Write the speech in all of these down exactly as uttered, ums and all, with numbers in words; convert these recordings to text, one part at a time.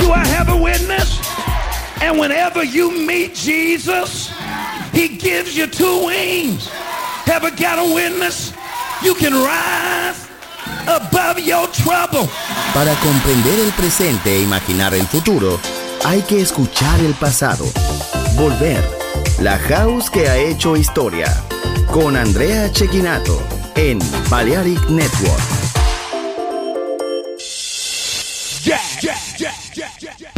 Do I have a witness? And whenever you meet Jesus, he gives you two wings. Ever got a witness? You can rise above your trouble. Para comprender el presente e imaginar el futuro, hay que escuchar el pasado. Volver. La House que ha hecho historia. Con Andrea Cecchinato en Balearic Network. Yeah, yeah, yeah, yeah, yeah, yeah.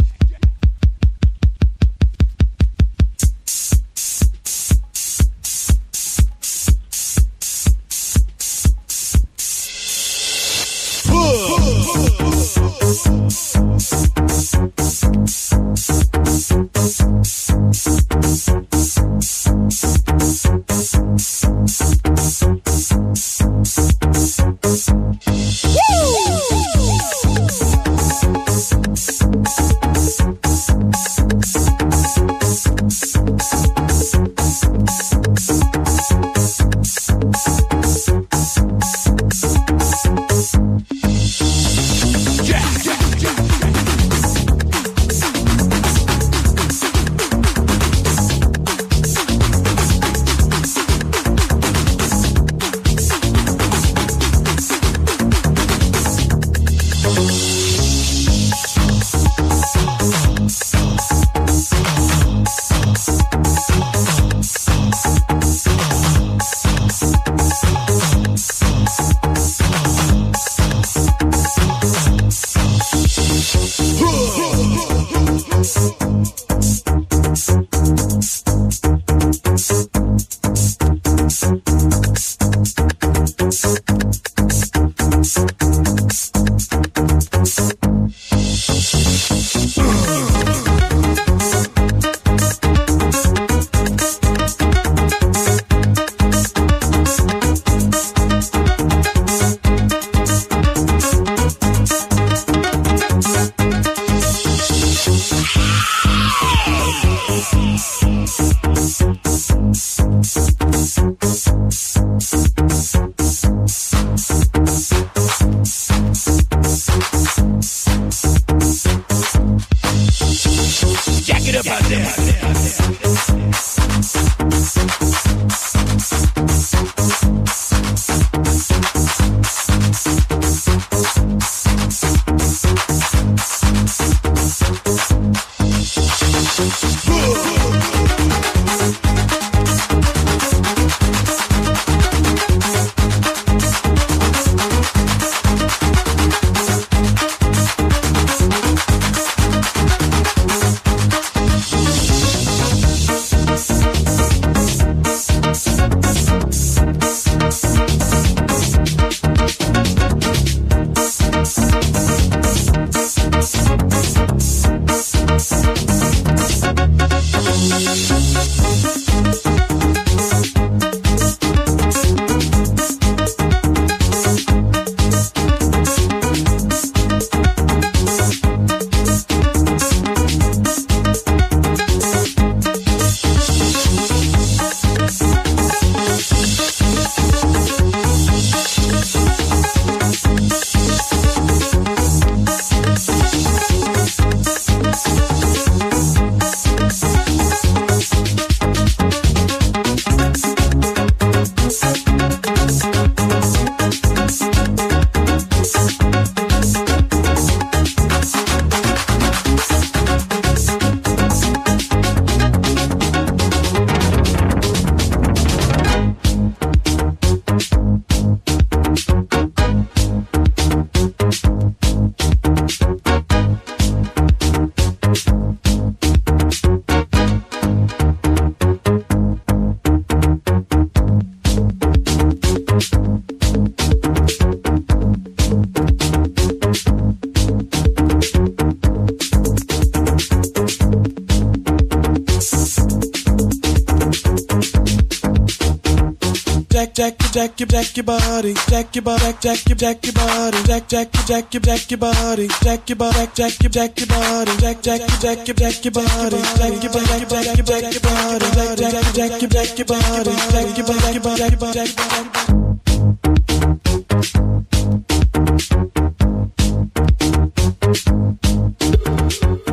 jack, jack, jack, jack your body, jack your body, jack, jack, jack your body, jack, jack, jack, jack your body, jack your body, jack, jack your body, jack, jack, jack, jack your body, jack your body, jack, jack your body, jack, jack, jack, jack your body, jack your body, jack, jack, jack.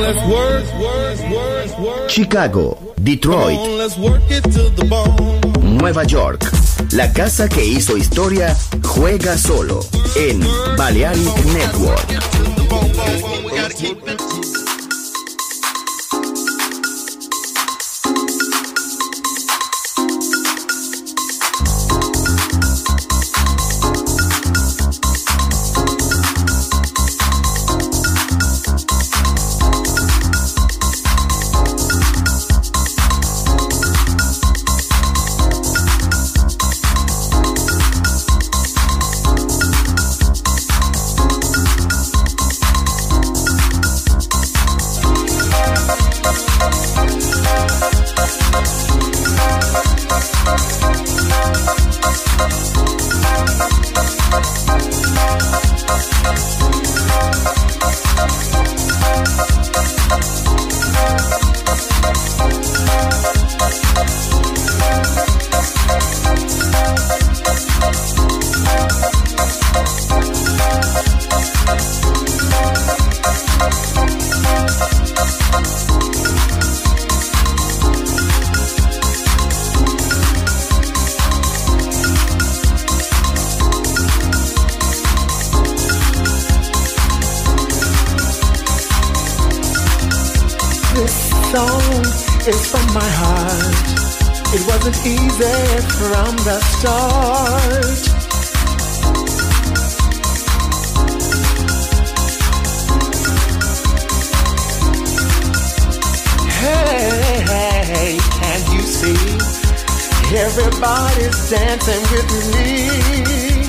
let's work, work, work, work. Chicago, Detroit, Come on, let's work it to the bone. Nueva York. La casa que hizo historia juega solo en Balearic Network. It's from my heart. It wasn't easy from the start. Hey, hey, can't you see? Everybody's dancing with me.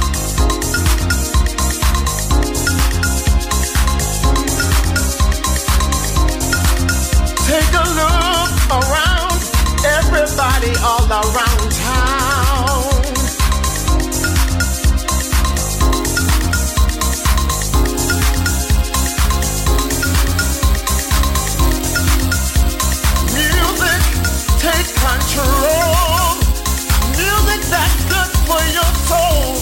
Take a look around, everybody all around town. Music, take control. Music that's good for your soul.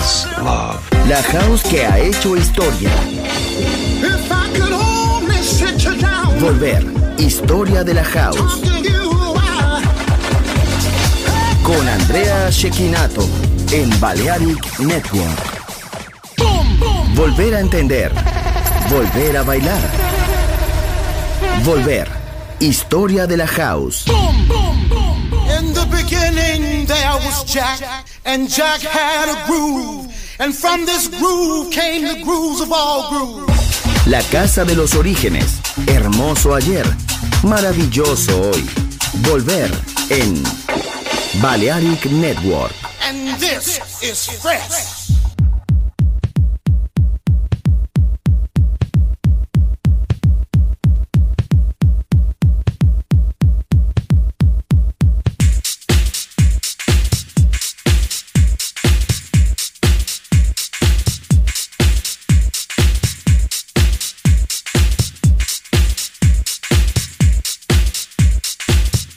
is love. La house que ha hecho historia. If I could only sit you down. Volver. Historia de la house. Talk to you, I... Con Andrea Cecchinato en Balearic Network. Boom, boom. Volver a entender. Volver a bailar. Volver. Historia de la house. Boom, boom, boom, boom. In the beginning there was Jack, and Jack had a groove, and from this groove came the grooves of all grooves. La casa de los orígenes. Hermoso ayer. Maravilloso hoy. Volver en Balearic Network. And this is fresh.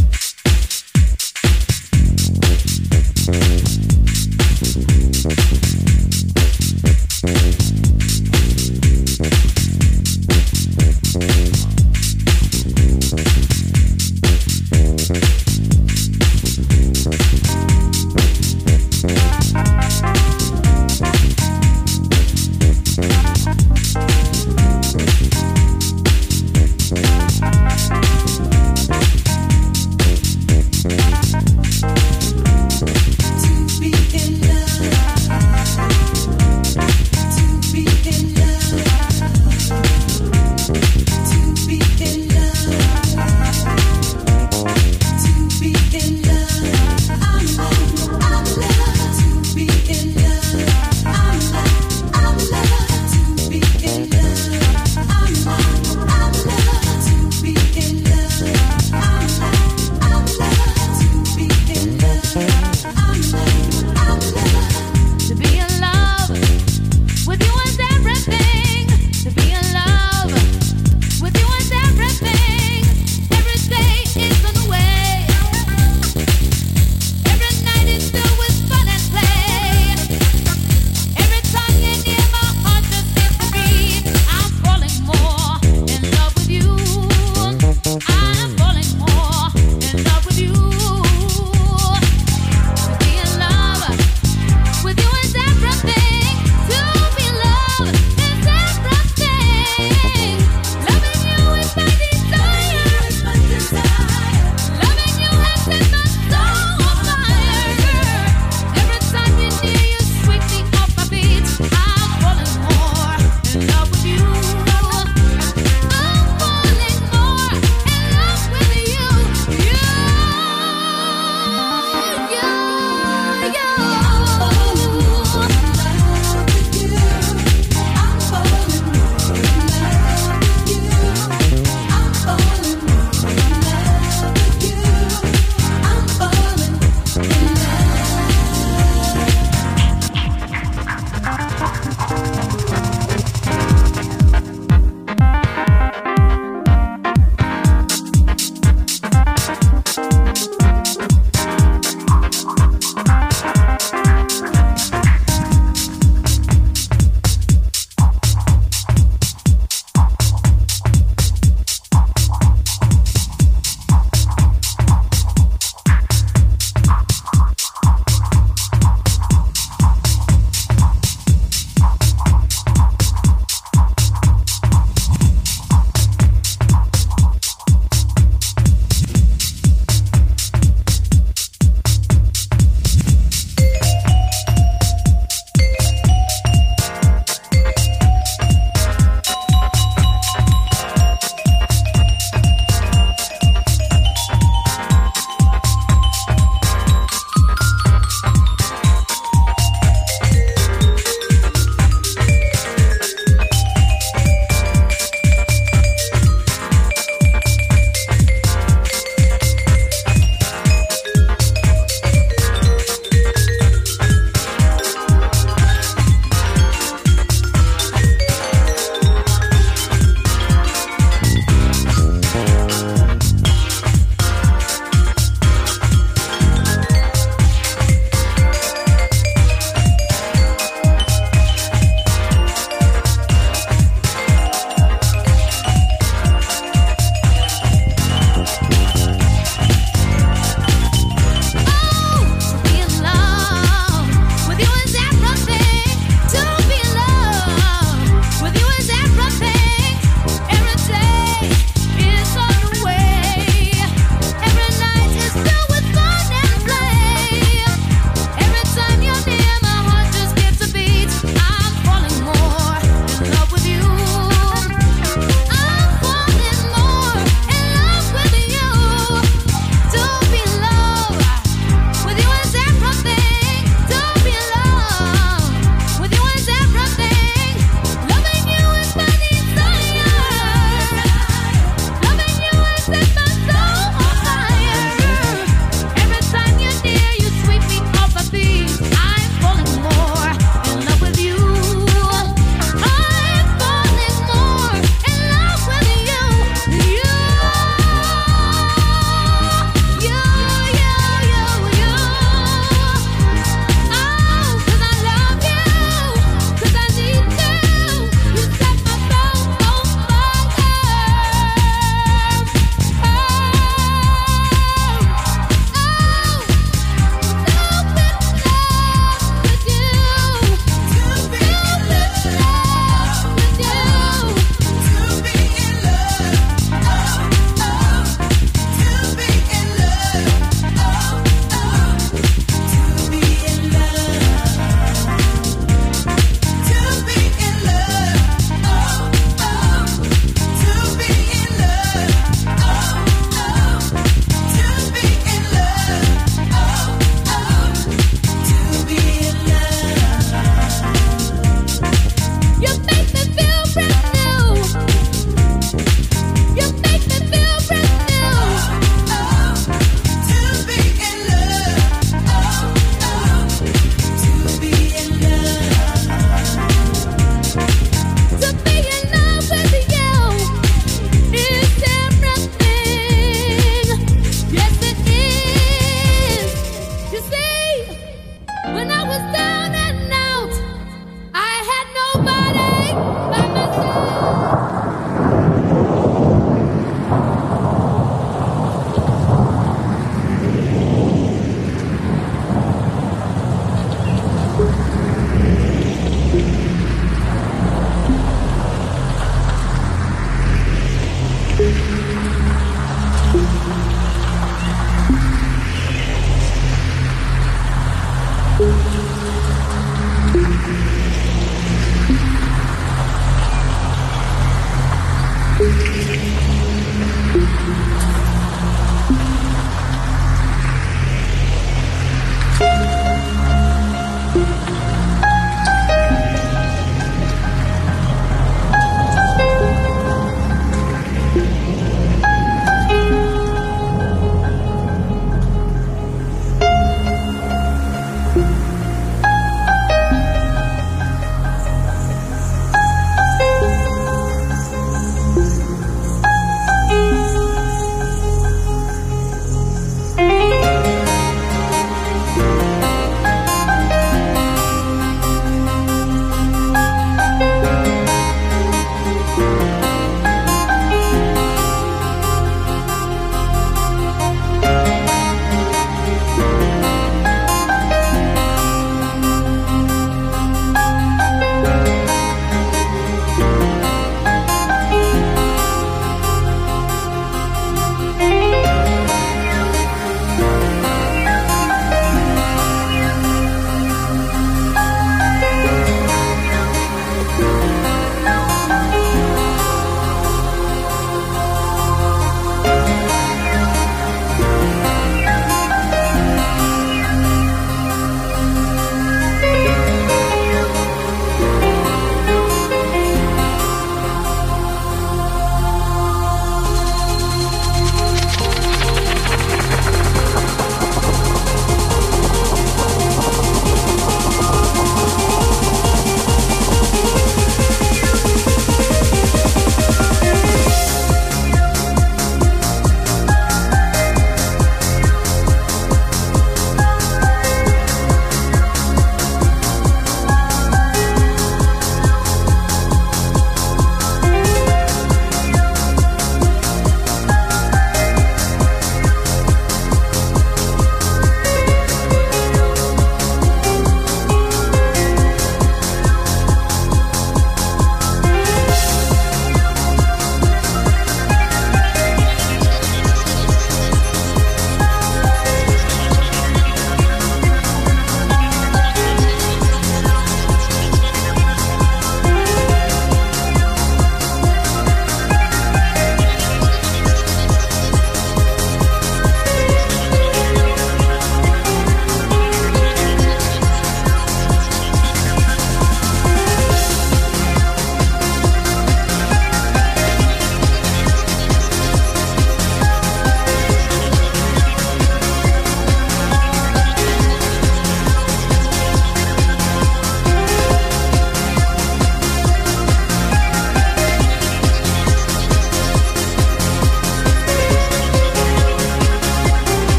Thank you.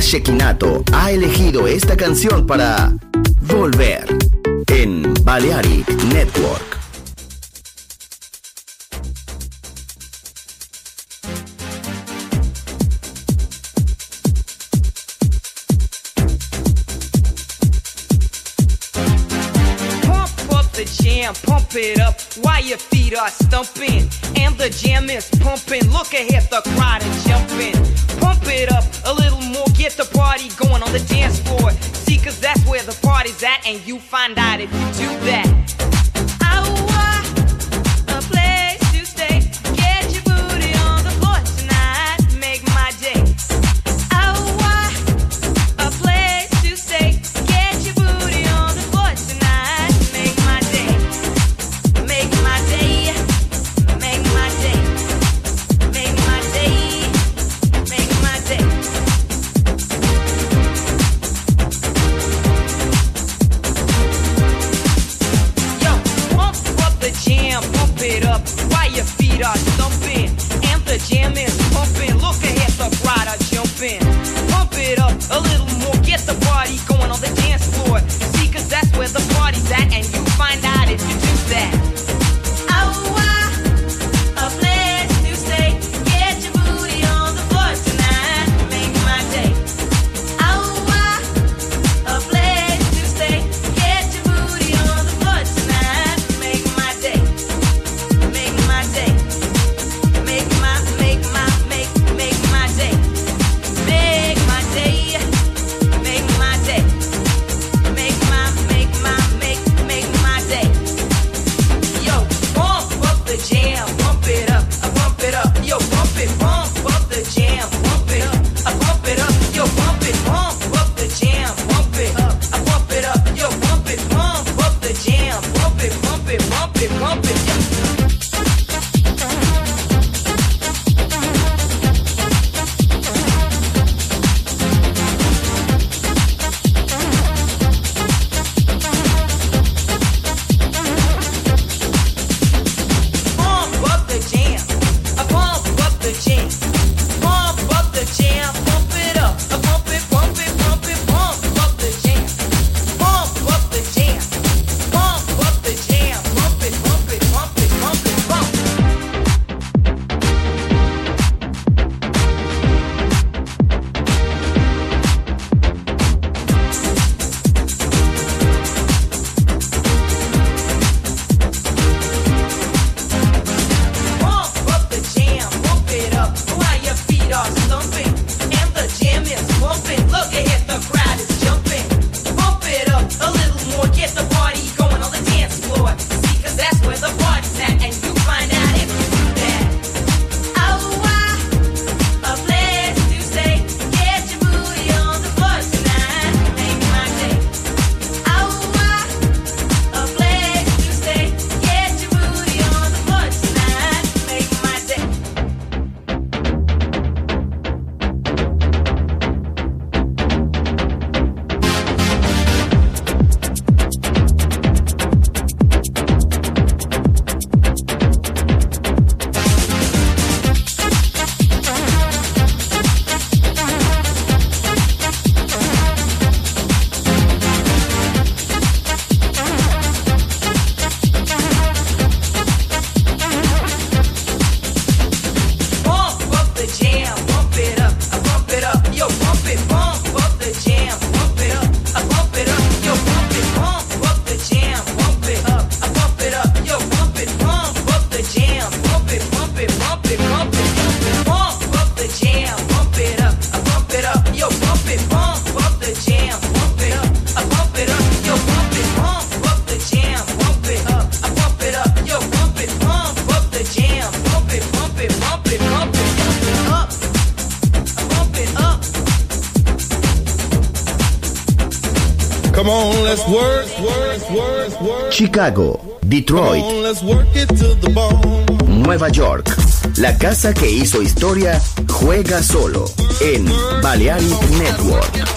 Shekinato ha elegido esta canción para volver en Balearic Network. Pump it up while your feet are stumping and the jam is pumping. Look ahead, the crowd is jumping. Pump it up a little more, get the party going on the dance floor. See, cause that's where the party's at, and you find out if you do that. Oh, a place to stay. Get your booty on the floor tonight, make my day. Oh, a place to stay. Get your booty on the floor tonight, make my day. Make my day, make my day, make my day, make my day. Yo, pump up the jam, pump it up while your feet are stumping and the jam is pumping. Look ahead, the crowd are jumping. Pump it up a little more, get the party going on the dance floor. See, cause that's where the party's at, and you find out if you do that. Come on, let's work, work, work, work. Chicago, Detroit, Come on, let's work it to the bone. Nueva York. La casa que hizo historia juega solo en Balearic Network.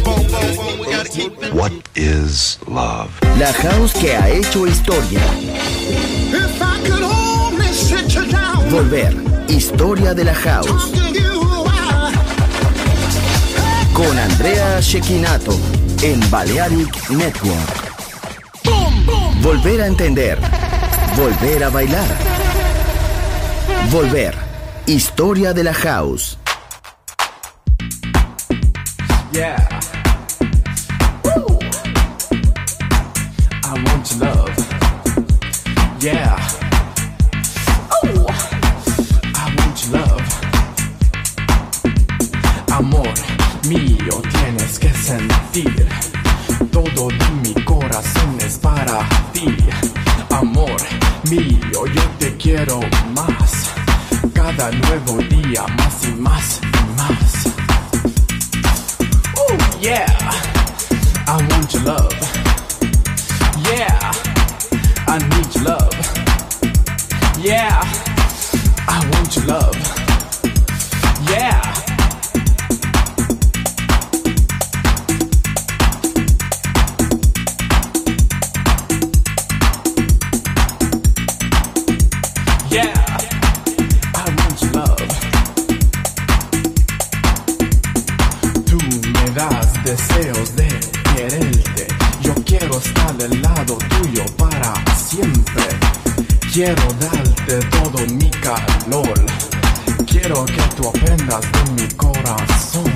What is love? La house que ha hecho historia. If I could only sit you down. Volver, historia de la house. Talk to you, I- con Andrea Cecchinato en Balearic Network. Volver a entender, volver a bailar, volver. Historia de la house. Yeah. Woo. I want your love. Yeah. Oh. I want your love. Amor mío, tienes que sentir. Todo de mi corazón es para ti. Amor mío, yo te quiero más. Cada nuevo día más y más y más. Oh yeah, I want your love. Yeah, I need your love. Yeah, I want your love. Yeah. Deseos de quererte, yo quiero estar del lado tuyo para siempre. Quiero darte todo mi calor, quiero que tú aprendas de mi corazón.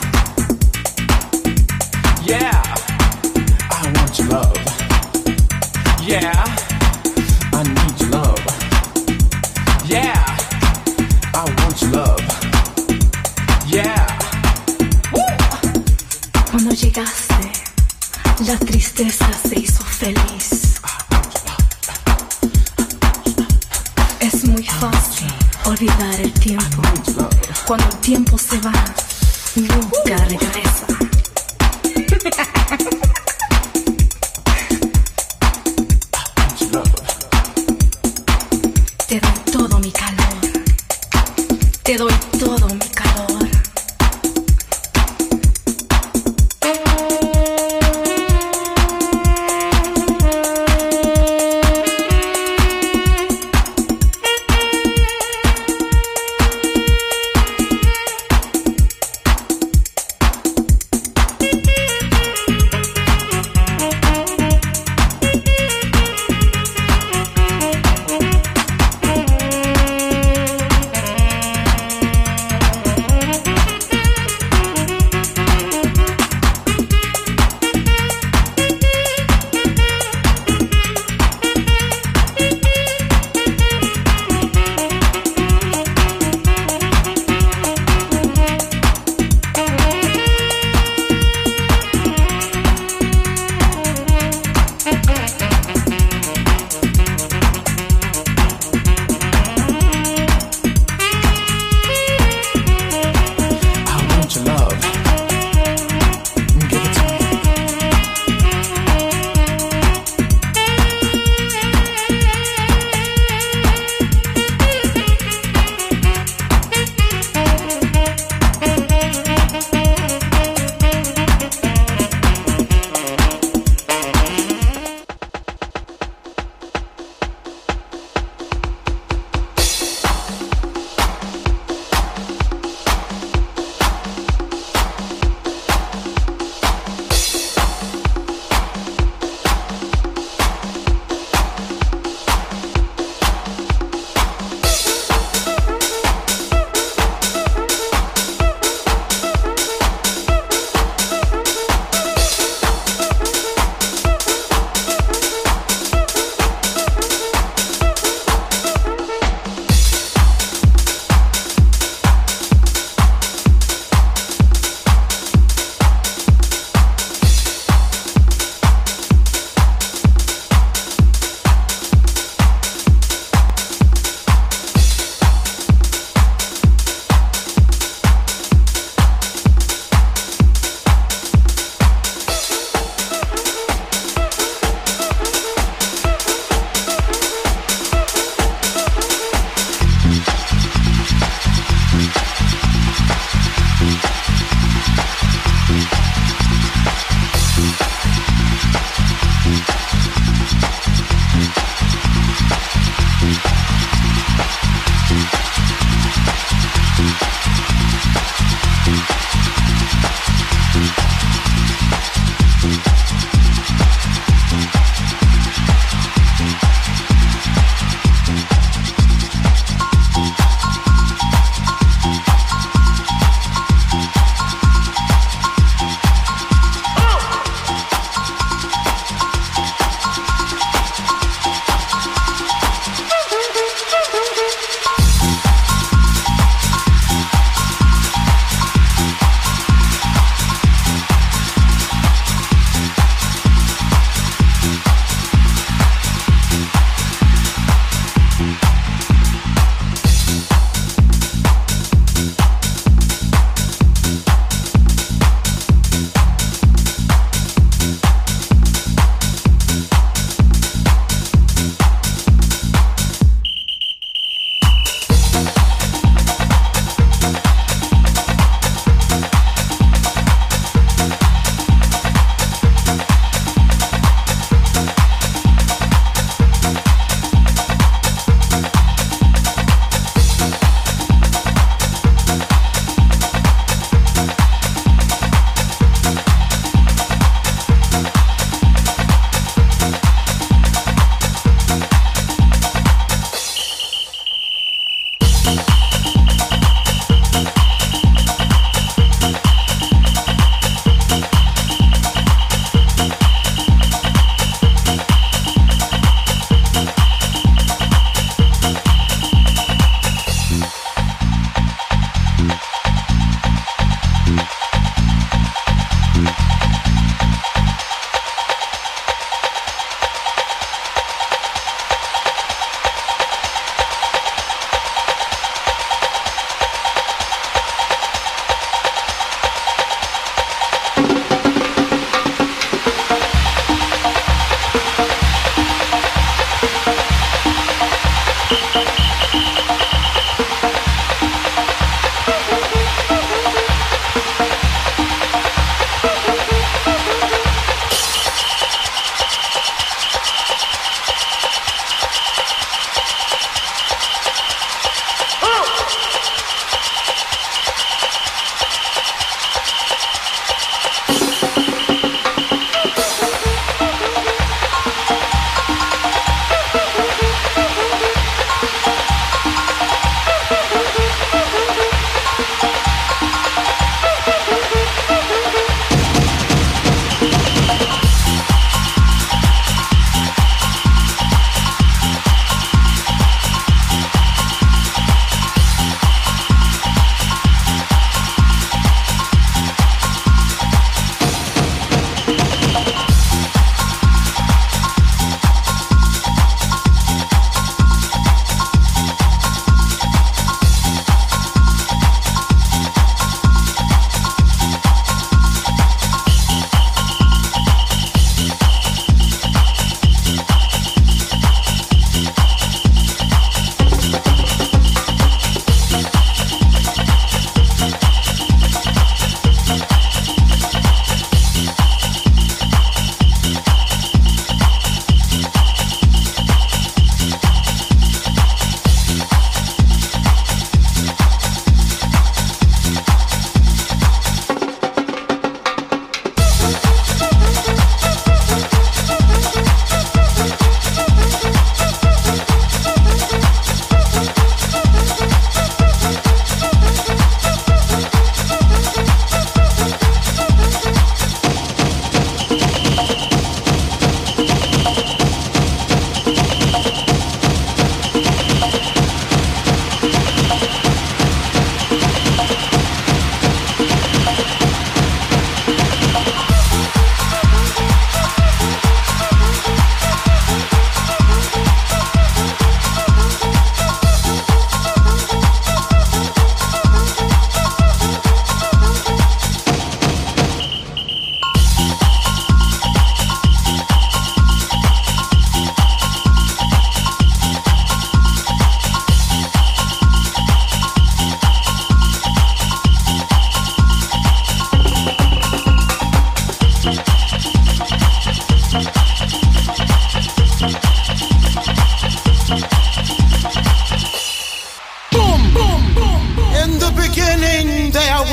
Yeah, I want your love. Yeah, I need your love. Yeah, I want your love. Yeah. Cuando llegaste, la tristeza se hizo feliz. Es muy fácil olvidar el tiempo. Cuando el tiempo se va, nunca regresa. Te doy todo mi calor. Te doy todo mi calor.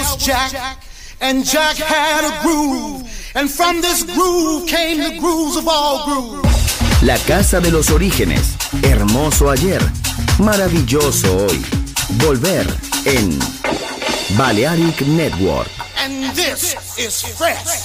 was Jack, and Jack had a groove, and from this groove came the grooves of all grooves. La casa de los orígenes, hermoso ayer, maravilloso hoy. Volver en Balearic Network. And this is fresh.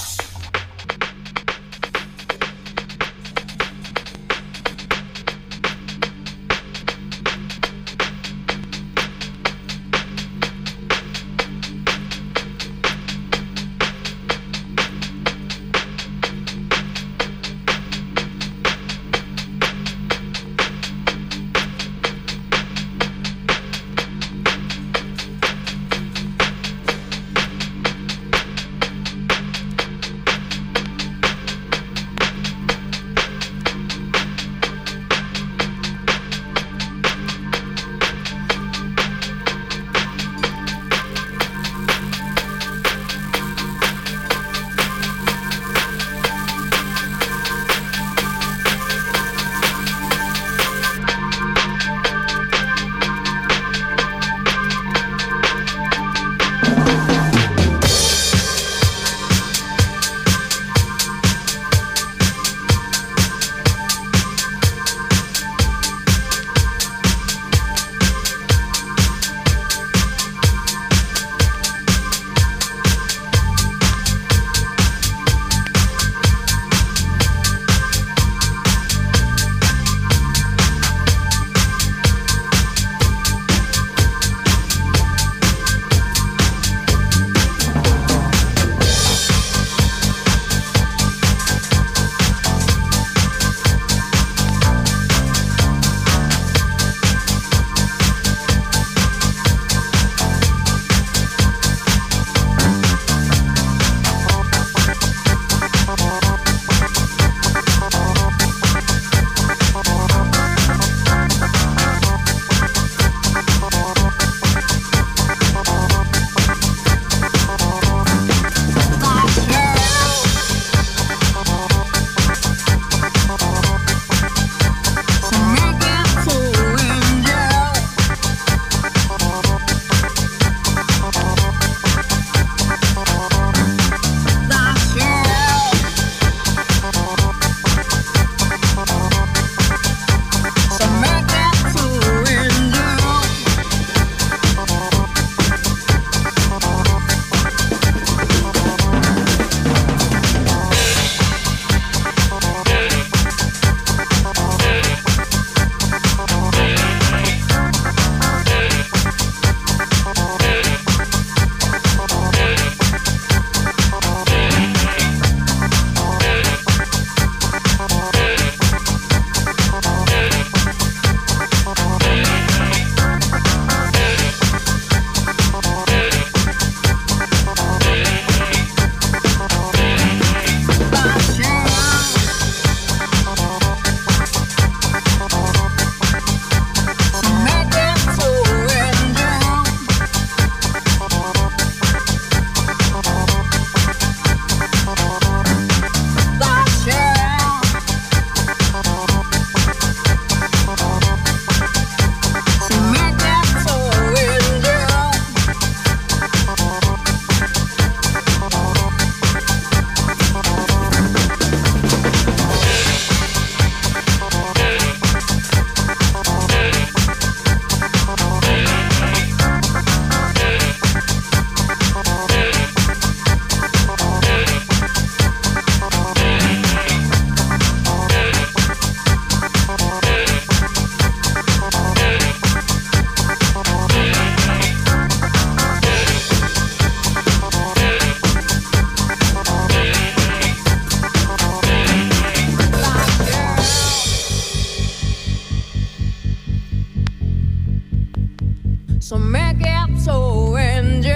So make it so angel.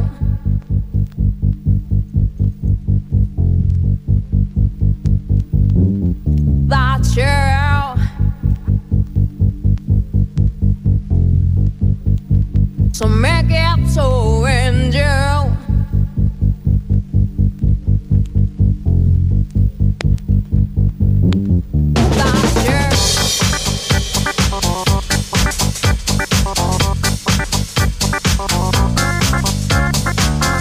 That's you. So make it so angel. That's you.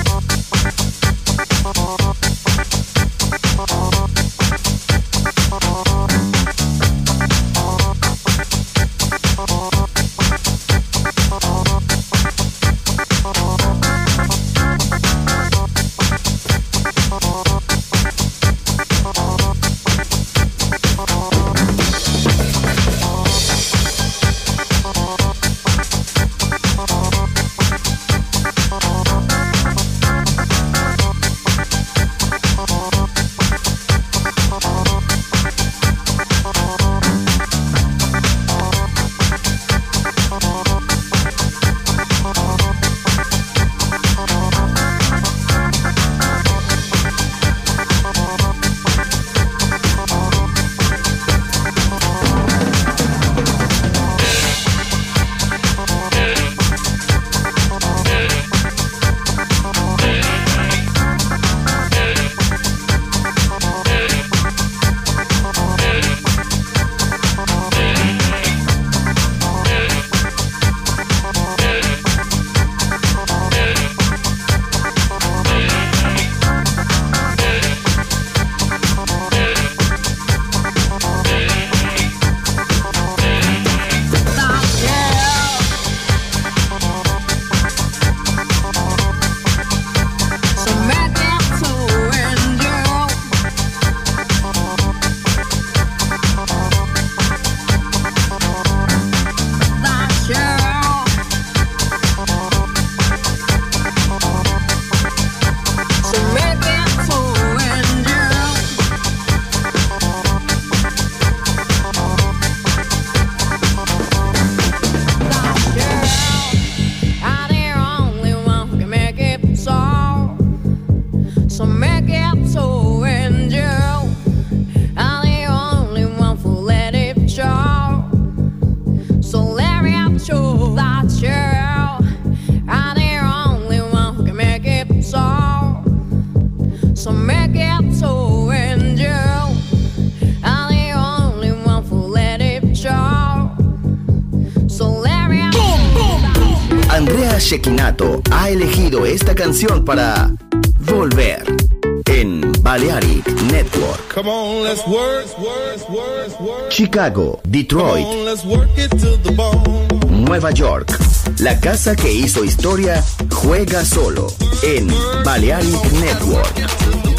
Andrea Cecchinato ha elegido esta canción para volver en Balearic Network. Come on, let's work. Chicago, Detroit, Come on, let's work it to the bone. Nueva York. La casa que hizo historia juega solo en Balearic Network.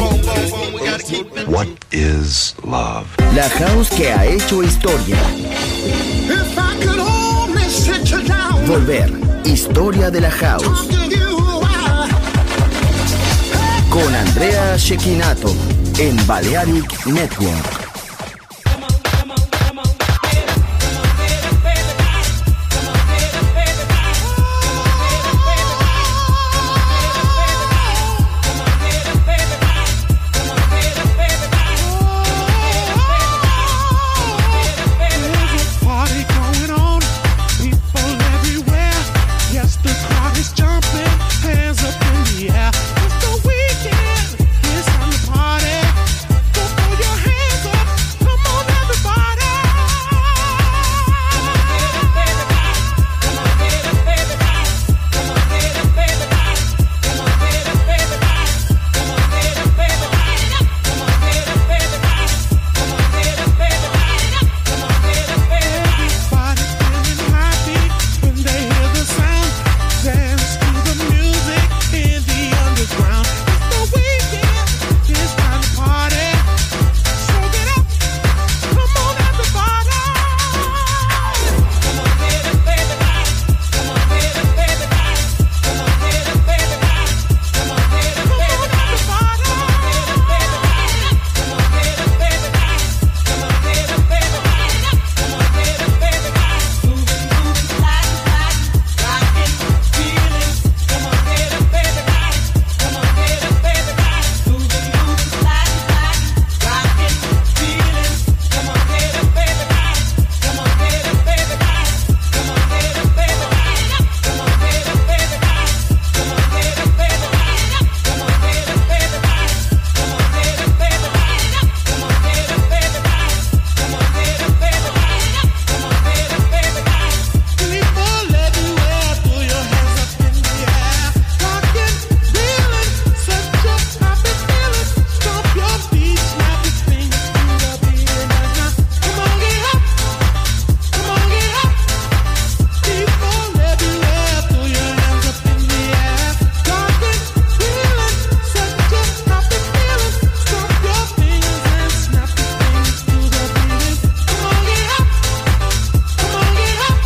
What is love? La house que ha hecho historia. If I could only sit you down, Volver, historia de la house. talk to you, I- Con Andrea Cecchinato en Balearic Network. Party going on, people everywhere. Yes, the crowd is jumping, hands up in the air. It's the weekend, it's time to party. So throw your hands up, come on everybody. Everybody feeling happy when they hear the sound. Dance to the music in the underground. It's the weekend, it's time to party. So get up, come on everybody. People everywhere, throw your hands up in the air. Rockin', reelin', such a happy feeling. Stomp your feet, snap your fingers to the beat and now. Come on, get up, come on, get up. People everywhere, throw your hands up in the air. Rockin', reelin', such a happy feeling. Stomp your fingers and snap your fingers to the beat. Come on, get up, come on, get up.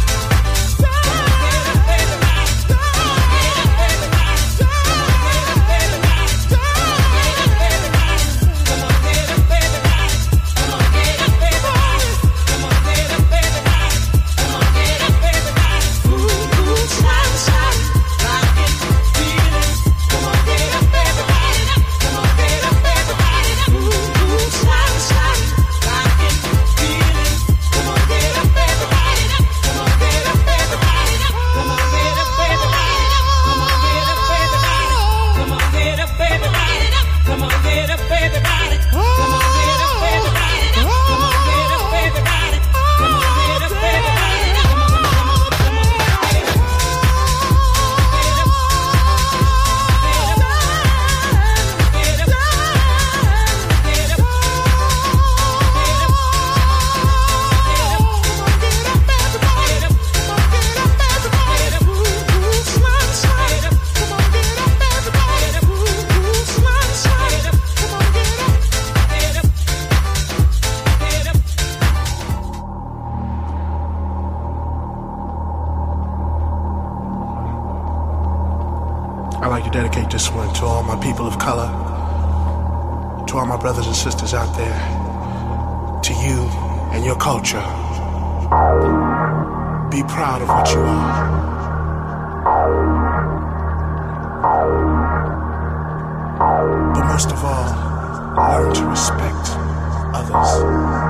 I'd like to dedicate this one to all my people of color, to all my brothers and sisters out there, to you and your culture. Be proud of what you are. But most of all, learn to respect others.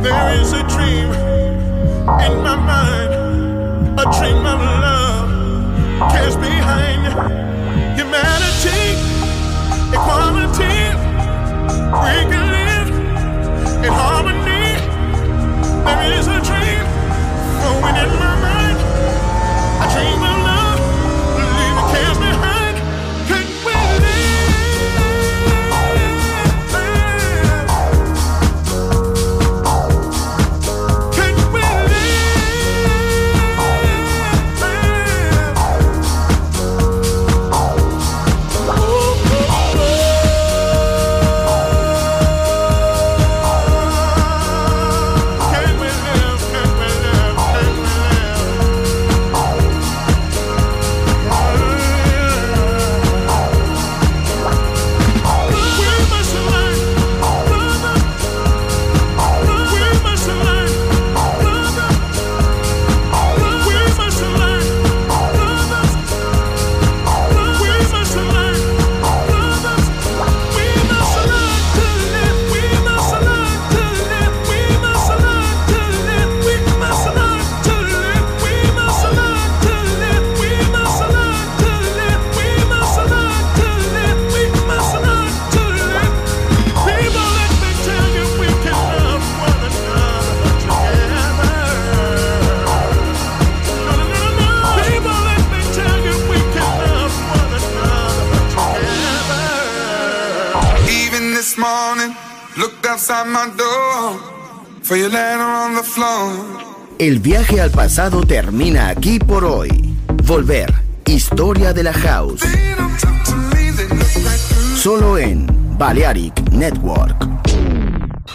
There is a dream in my mind, a dream of love cares behind humanity, equality. We can live in harmony. There is a dream growing in my mind, a dream of love, leaving cares behind. Can we El viaje al pasado termina aquí por hoy. Volver, historia de la house. Solo en Balearic Network.